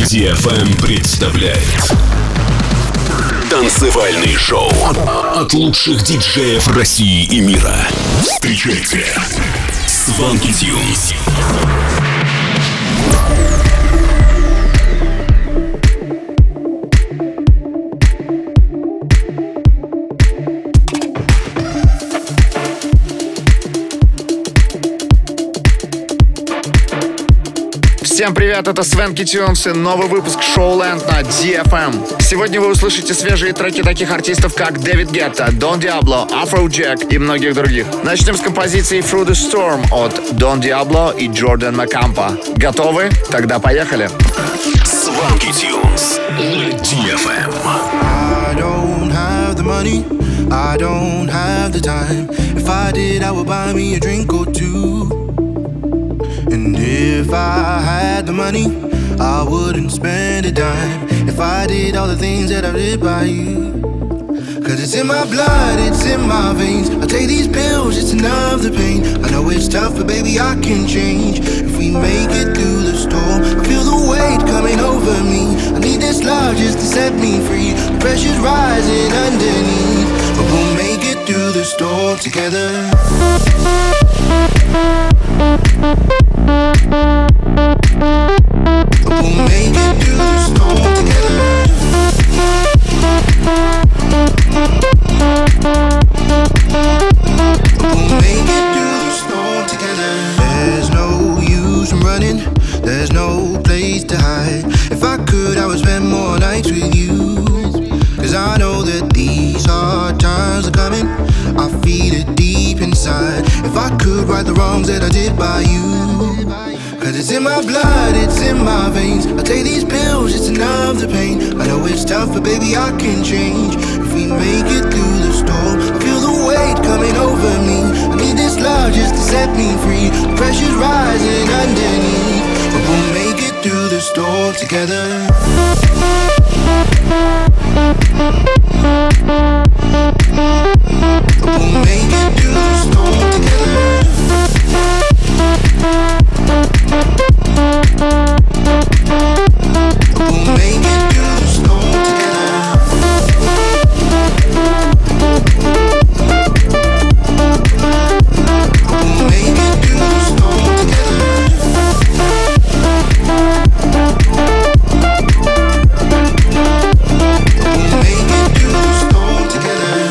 DFM представляет танцевальный шоу от лучших диджеев России и мира. Встречайте Swanky Tunes. Всем привет, это Swanky Tunes и новый выпуск Showland на DFM. Сегодня вы услышите свежие треки таких артистов, как Дэвид Гетта, Don Diablo, Afrojack и многих других. Начнем с композиции Through the Storm от Don Diablo и Jordan Macampa. Готовы? Тогда поехали. Swanky Tunes на DFM. I don't have the money, I don't have the time. If I did, I would buy me a drink or two. And if I had the money, I wouldn't spend a dime. If I did all the things that I did by you. Cause it's in my blood, it's in my veins. I take these pills just to numb the pain. I know it's tough, but baby I can change. If we make it through the storm, I feel the weight coming over me. I need this love just to set me free. The pressure's rising underneath, but we'll make it through the storm together. We'll make it through the storm together. We'll make it through the storm together. There's no use in running, there's no place to hide. If I could, I would spend more nights with you. Cause I know that these hard times are coming, I feel it deep inside. If I could right the wrongs that I did by you. Cause it's in my blood, it's in my veins. I take these pills just to numb the pain. I know it's tough, but baby I can change. If we make it through the storm, I feel the weight coming over me. I need this love just to set me free. The pressure's rising underneath, but we'll make it through the storm together. We'll make it through the storm together. We'll make it through the storm together. We'll make it through the storm together. We'll make it through the storm together.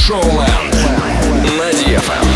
Showland на DFM.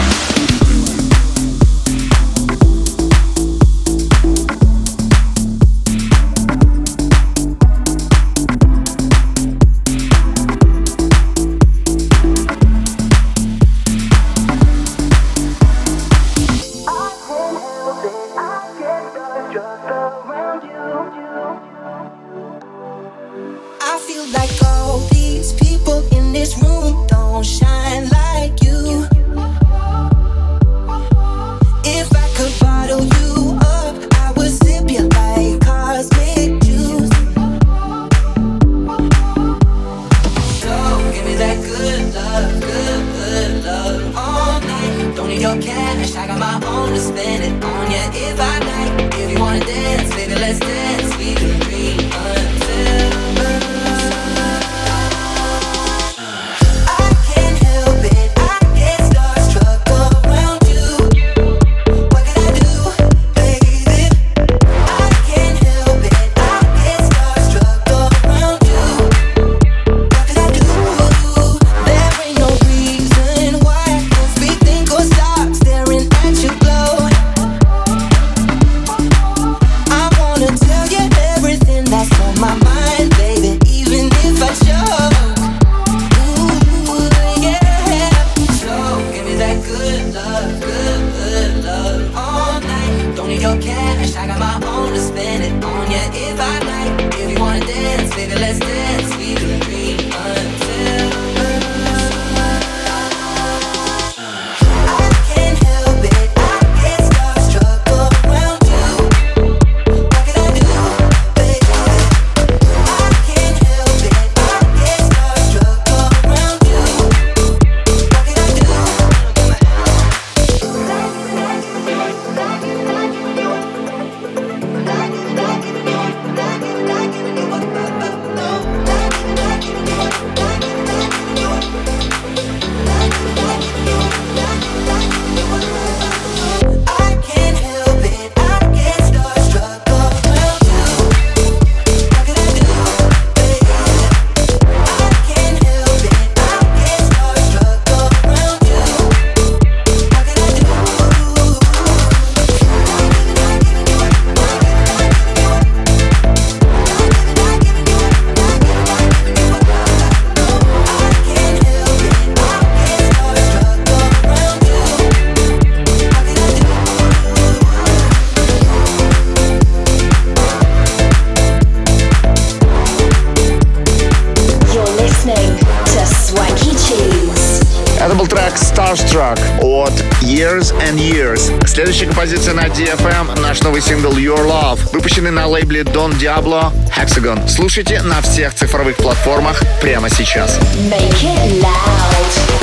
Starstruck от Years and Years. Следующая композиция на DFM — наш новый сингл Your Love, выпущенный на лейбле Don Diablo Hexagon. Слушайте на всех цифровых платформах прямо сейчас. Make it loud.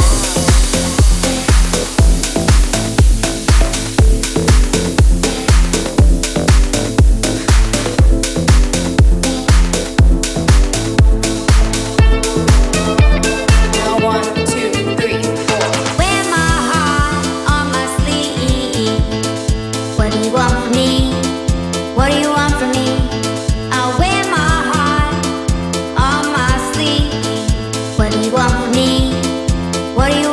What do you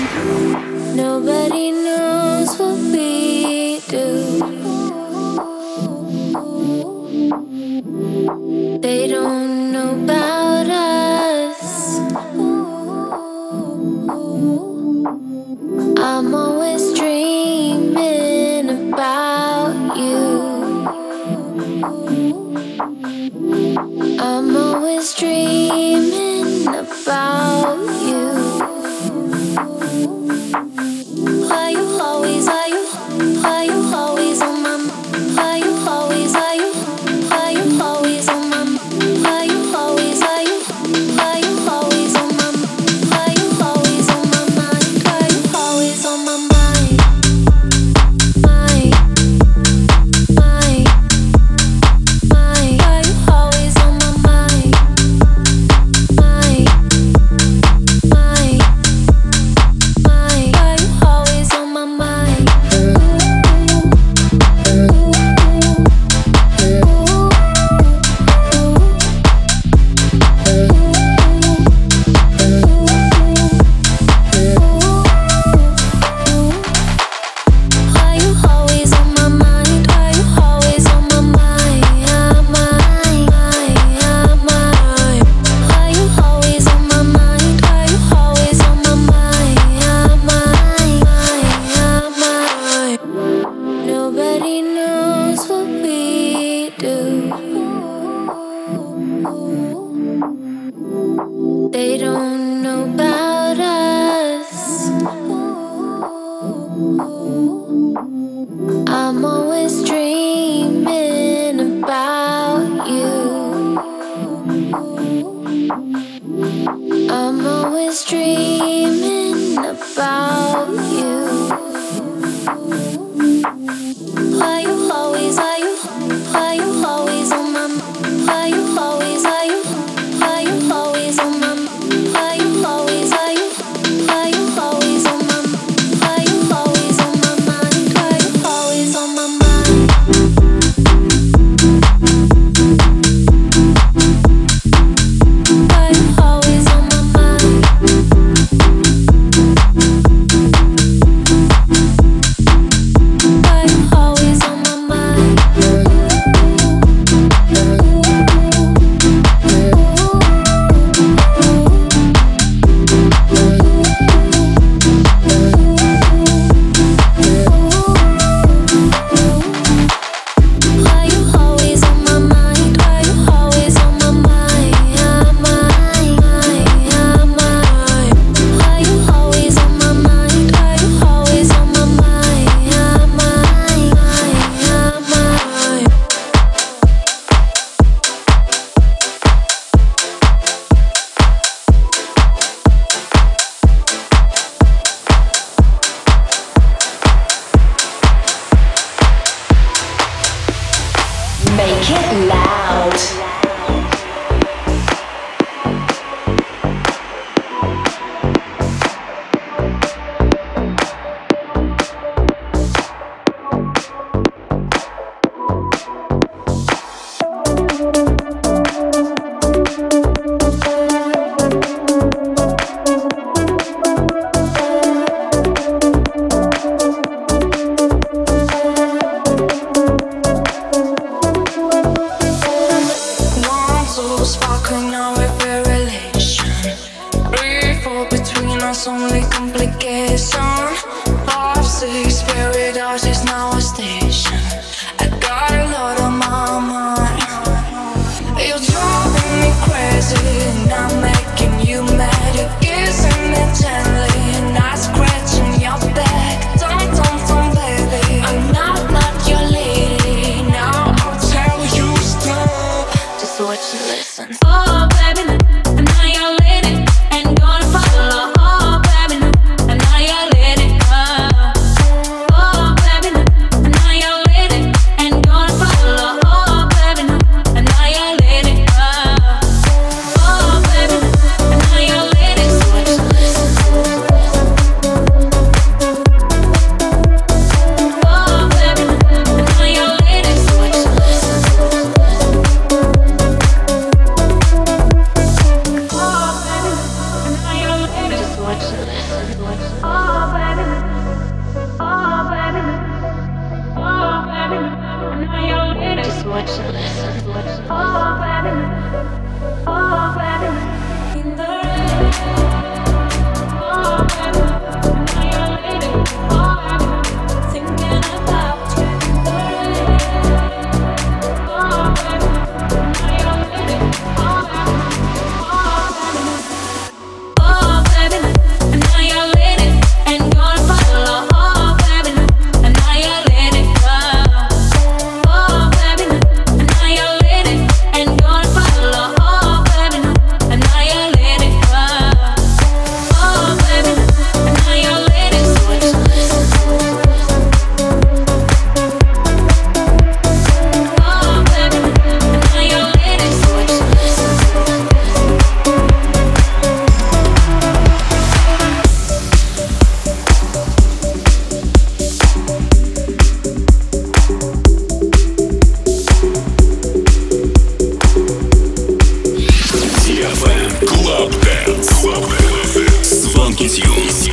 Nobody knows what we do. They don't know about us. I'm always dreaming about you. I'm always dreaming about you. Are you always on my mind? Are you always on my mind? Are you always on my mind? Are you always on my mind? Are you always on my mind? Are you always on my mind? Are you always on my mind? Nobody knows what we do. They don't know about us. I'm always dreaming about you. I'm always dreaming about you. Are you always on my mind? Are you always on my mind? Are you always on my mind? Are you always on my mind? Are you always on my mind? Are you always on my mind? Are you always on my mind? Are you always on my mind? Are you always on my mind? Are you always on my mind? Are you always on my mind? Are you always on my mind? Make it loud. Sparkling now with a relation. Breathe for between us only complication. 5, 6, paradise is now a station. I got a lot on my mind. You're driving me crazy and I'm making you mad. You're kissing me gently and I'm scratching your back. Don't, baby, I'm not your lady. Now I'll tell you stop. Just watch and listen. Oh, baby, I'm not your lady. Ain't gonna follow. Oh, baby, I'm not your lady. Oh, baby, I'm not your lady. Ain't gonna follow. Oh, baby, I'm not your lady. Oh, baby. Swanky Tunes.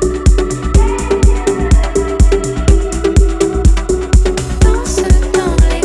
Don't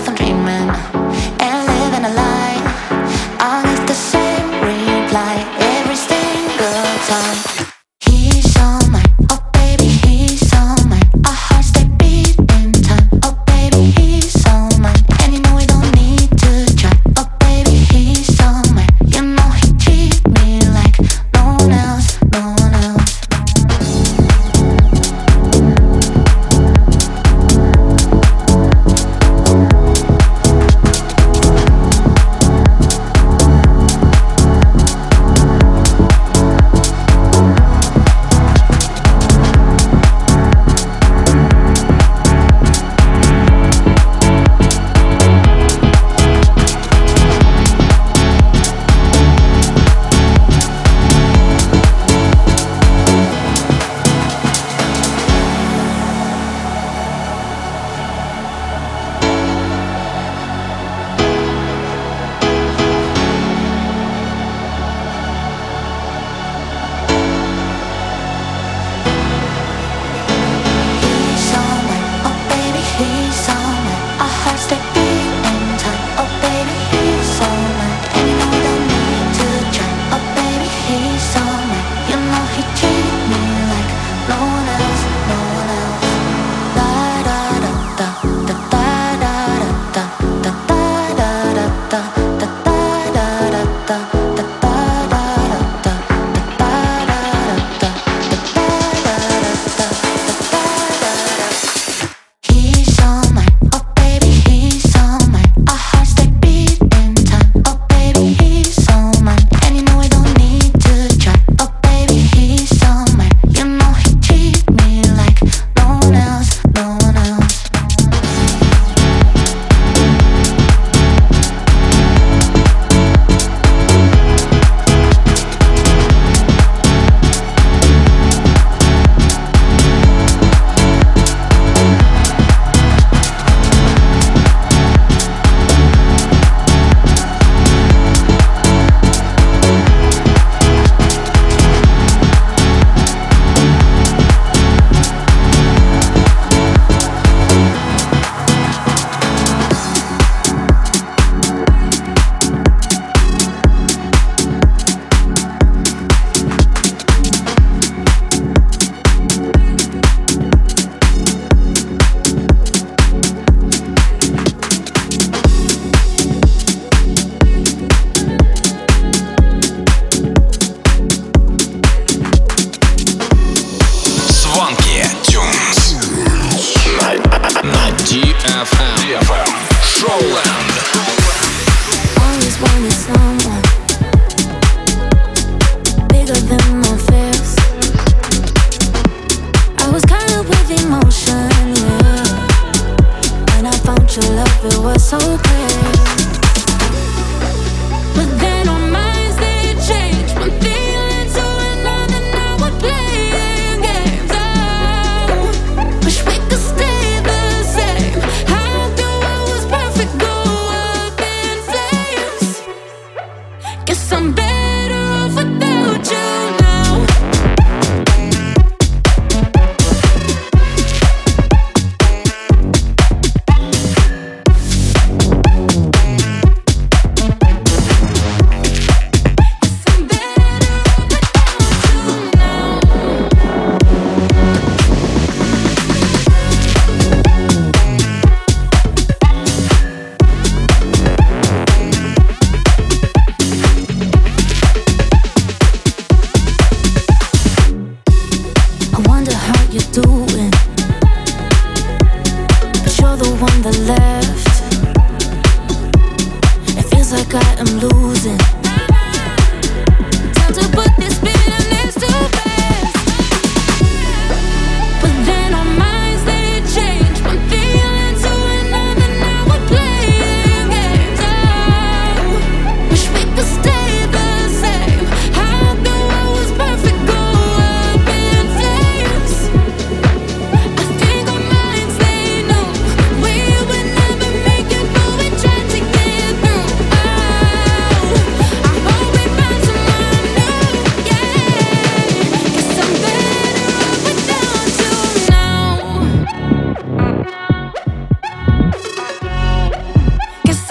I'm dreaming and living a lie. I'll get the same reply every single time. He's all mine, oh baby, he's all mine. Our hearts they beat in time, oh baby, he's all mine. And you know we don't need to try, oh baby, he's all mine. You know he treat me like no one else, no one else.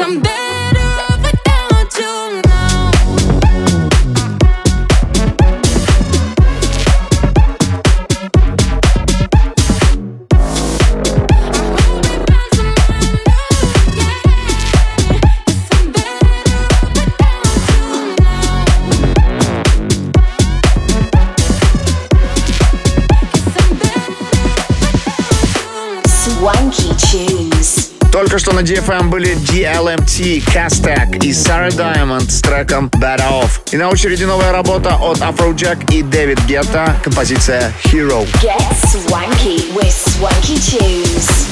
I'm better off without you now. Swanky tunes. Только что на DFM были DLMT, Castak и Sarah Diamond с треком Better Off. И на очереди новая работа от Afrojack и Дэвид Гетта, композиция Hero. Get swanky with Swanky tunes.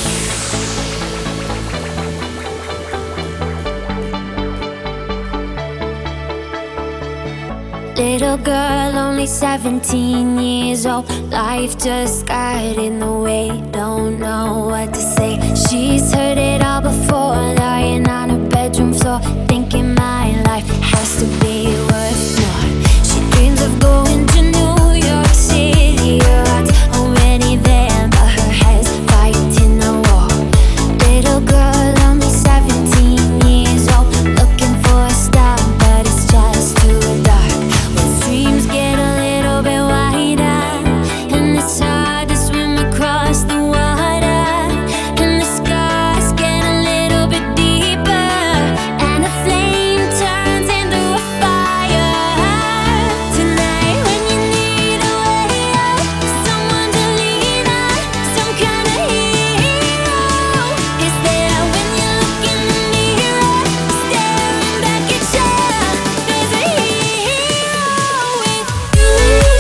Little girl, only 17 years old. Life just got in the way, don't know what to say. She's heard it all before, lying on her bedroom floor, thinking my life has to be worth more. She dreams of going to New York City. Her heart's already there, but her head's fighting the war. Little girl, only 17 years old, looking for a star, but it's just too dark. Dreams get a little bit wider, and it's hard to swim across the water, and the scars get a little bit deeper, and the flame turns into a fire. Tonight when you need a way out, someone to lean on, some kind of hero is there when you look in the mirror, staring back at you. There's a hero with you.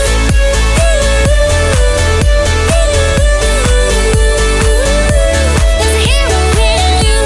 There's a hero in you.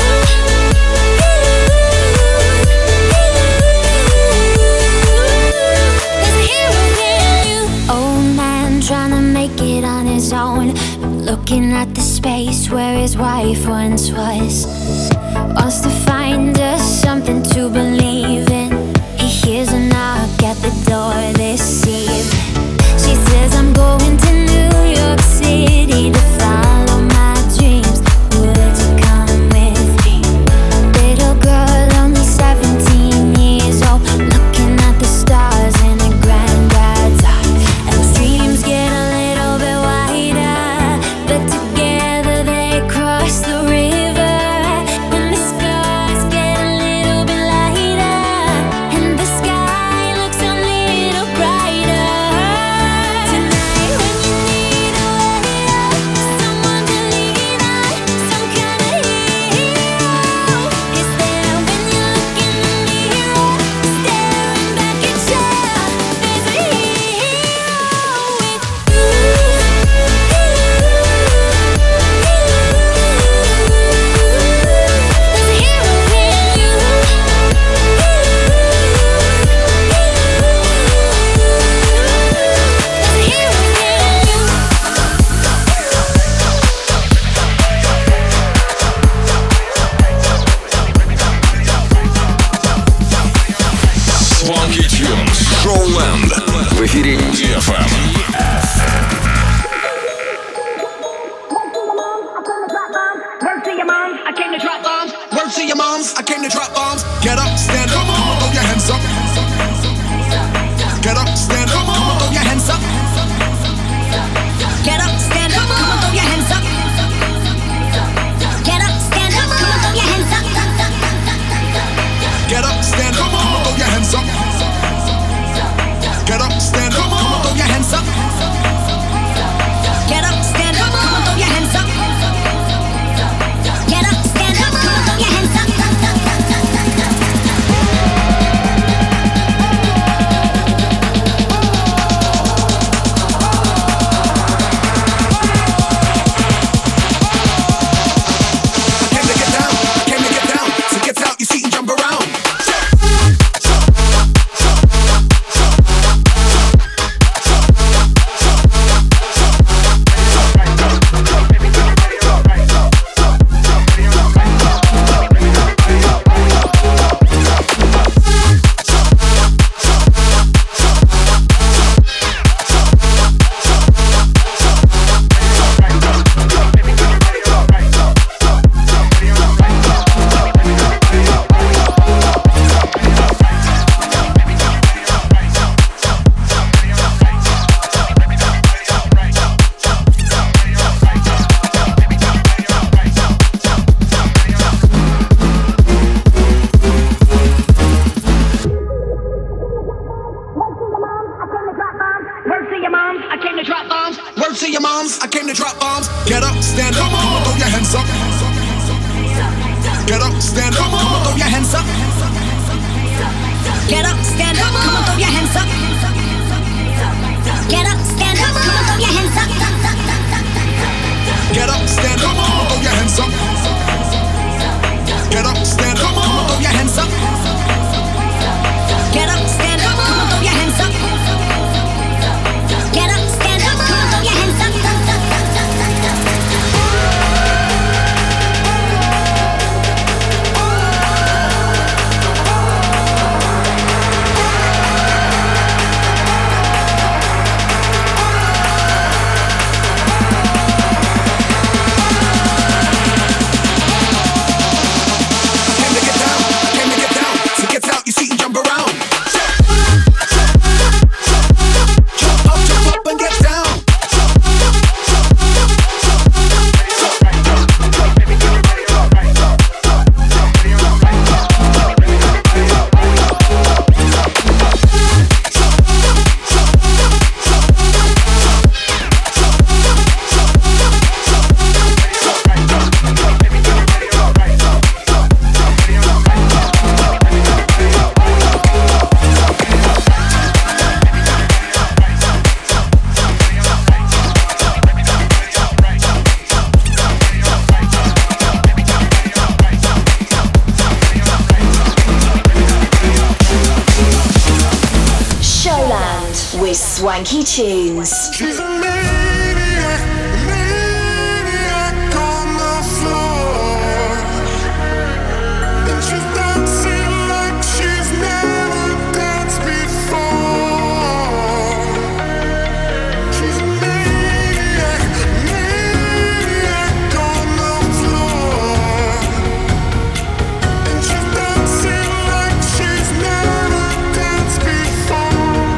There's a hero in you. Old man trying to make it on his own, looking at the space where his wife once was. Wants to find us something to believe in. He hears a knock at the door this evening. She says, I'm going to New York City to follow my dreams. Would you come with me? Little girl, only 17 years old, looking at the stars in her granddad's art. And those dreams get a little bit wider, but together they cross the river, and the scars get a little bit lighter, and the sky looks a little brighter. Tonight when you need a way out, someone to lean on, some kind of hero is there when you look in the mirror, staring back at you. There's a hero with you. There's a hero in you. There's a hero in you. Swanky Tunes, Showland. В эфире DFM. Word to your moms, I came to drop bombs. Word to your moms, I came to drop bombs. Get up, stand up, come on, throw your hands up. Get up, stand up, come on, throw your hands up. Get up, stand up, come on, throw your hands up. Get up, stand up, come on, throw your hands up. Get up, stand up, come on, throw your hands up. Get up, stand up, come on, throw your hands up. Get up, stand up, come on, throw your hands up. Get up, stand up, come on, throw your hands up. stand up, come on, throw your hands up. Get up, stand up, come on, throw your hands up. Get up, stand up, come on, throw your hands up. Get up, stand up, come on, throw your hands up. Get up, stand up, come on, throw your hands up. Get up, stand up, come on, throw your hands up. Get up, stand up, come on, throw your hands up. Swanky Tunes. She's a maniac, maniac on the floor. And she's dancing like she's never danced before. She's a maniac, maniac on the floor. And she's dancing like she's never danced before.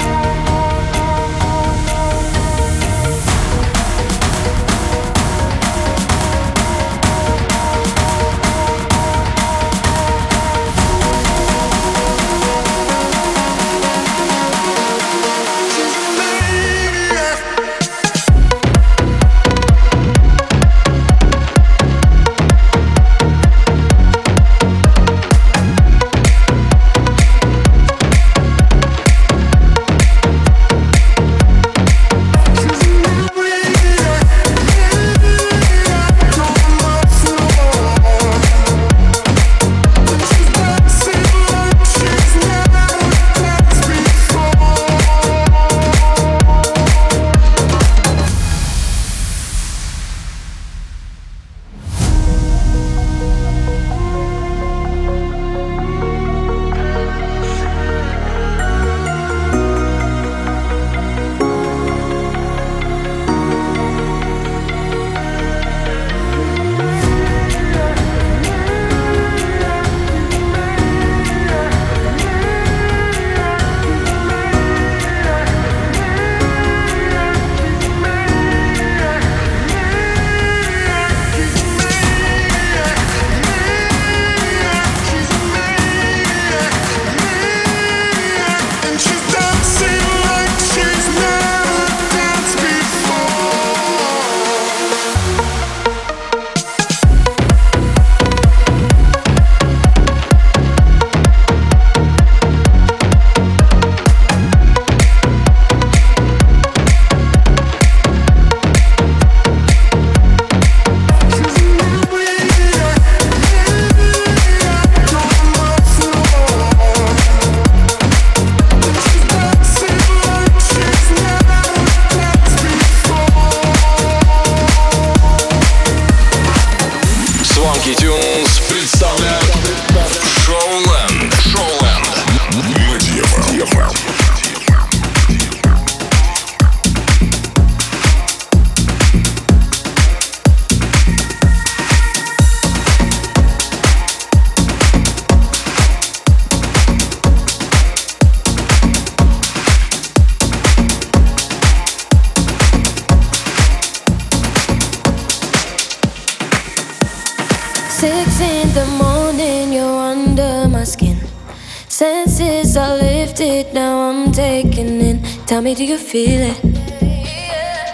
Senses are lifted, now I'm taking in. Tell me, do you feel it?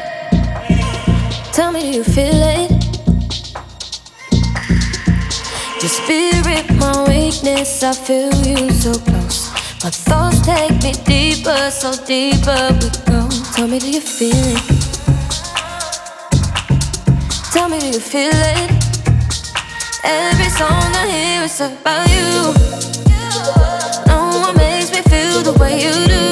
Tell me, do you feel it? Your spirit, my weakness, I feel you so close. My thoughts take me deeper, so deeper we go. Tell me, do you feel it? Tell me, do you feel it? Every song I hear is about you. No one makes me feel the way you do.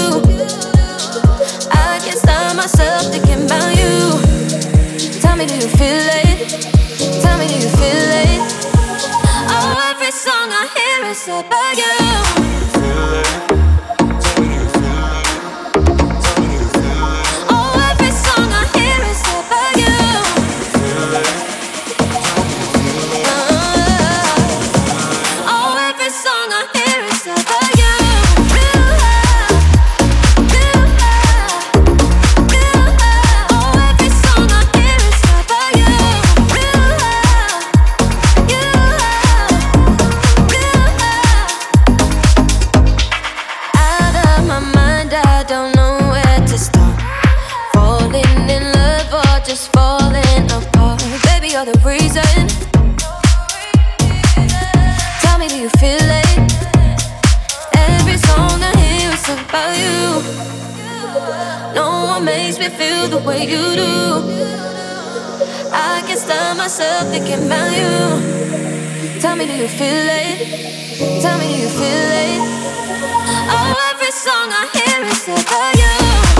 I can't stop myself thinking about you. Tell me, do you feel it? Tell me, do you feel it? Oh, every song I hear is about you. Thinking about you. Tell me, do you feel it? Tell me, do you feel it? Oh, every song I hear is about you.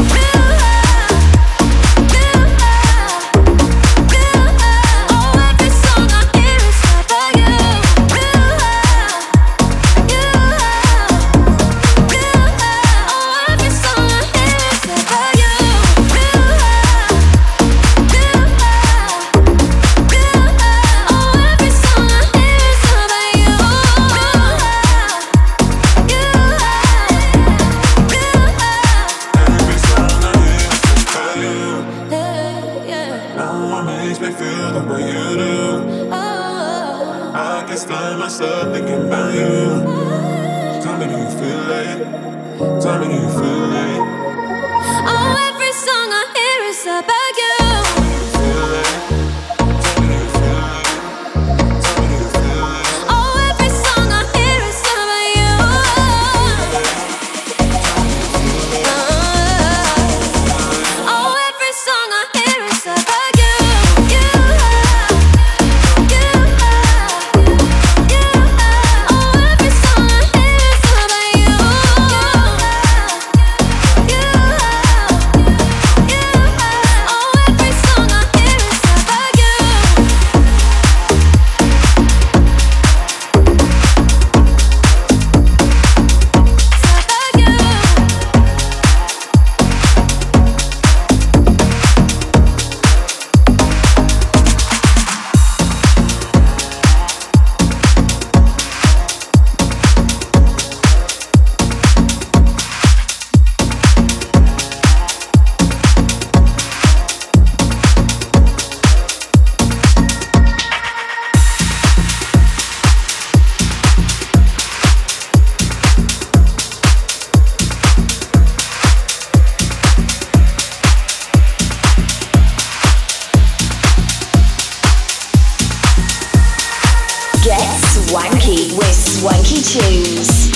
Swanky with Swanky Tunes.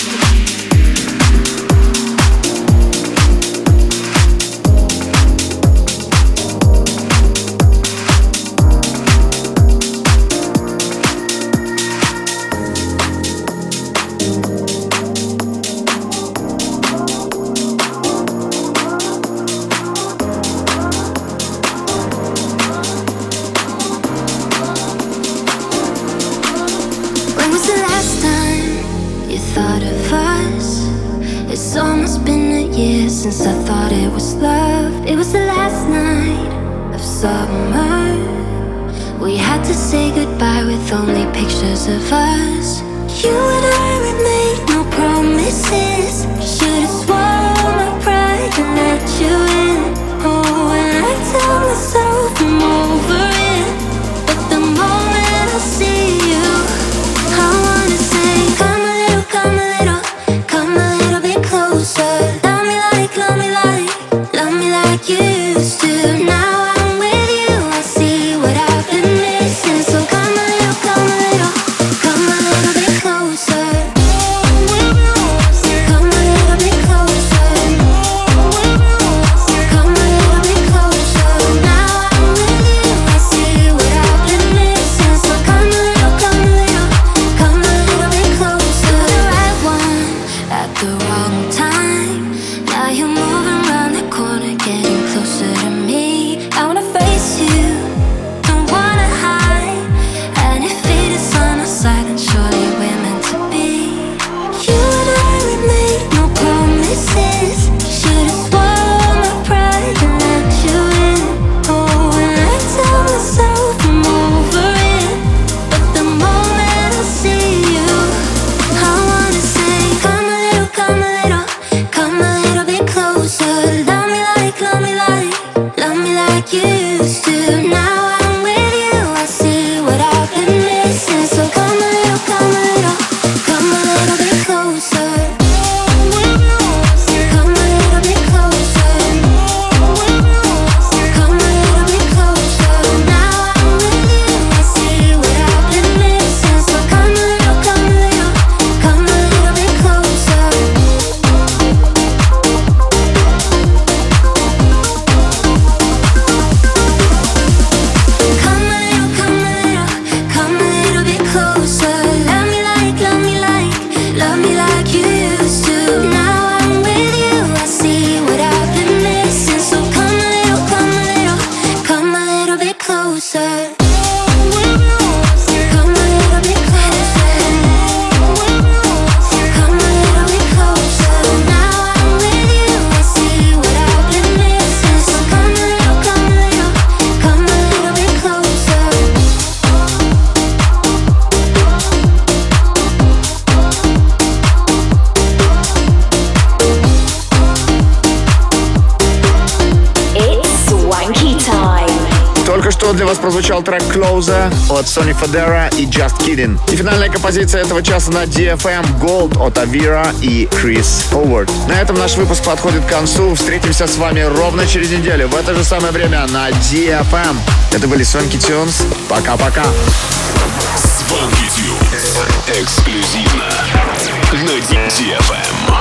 Since I thought it was love, it was the last night of summer. We had to say goodbye with only pictures of us. You and I, we made no promises. Should've swallowed my pride and let you in. Oh, and I tell myself I'm over it, but the moment I see you, I wanna say, come a little, come a little, come a little bit closer. Love me like you used to. Now I'm with you, I see what I've been missing. So come a little, come a little, come a little. для вас прозвучал трек Closer от Sonny Fodera и Just Kidding. И финальная композиция этого часа на DFM Gold от Avira и Chris Howard. На этом наш выпуск подходит к концу. Встретимся с вами ровно через неделю в это же самое время на DFM. Это были Swanky Tunes. Пока-пока. Swanky Tunes. Эксклюзивно на DFM.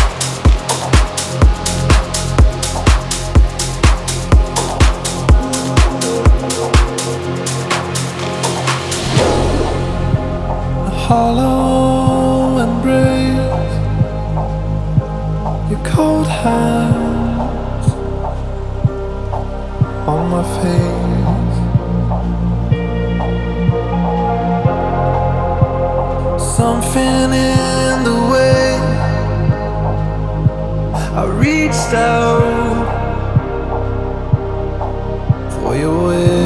Hollow embrace, your cold hands on my face. Something in the way I reached out for your way.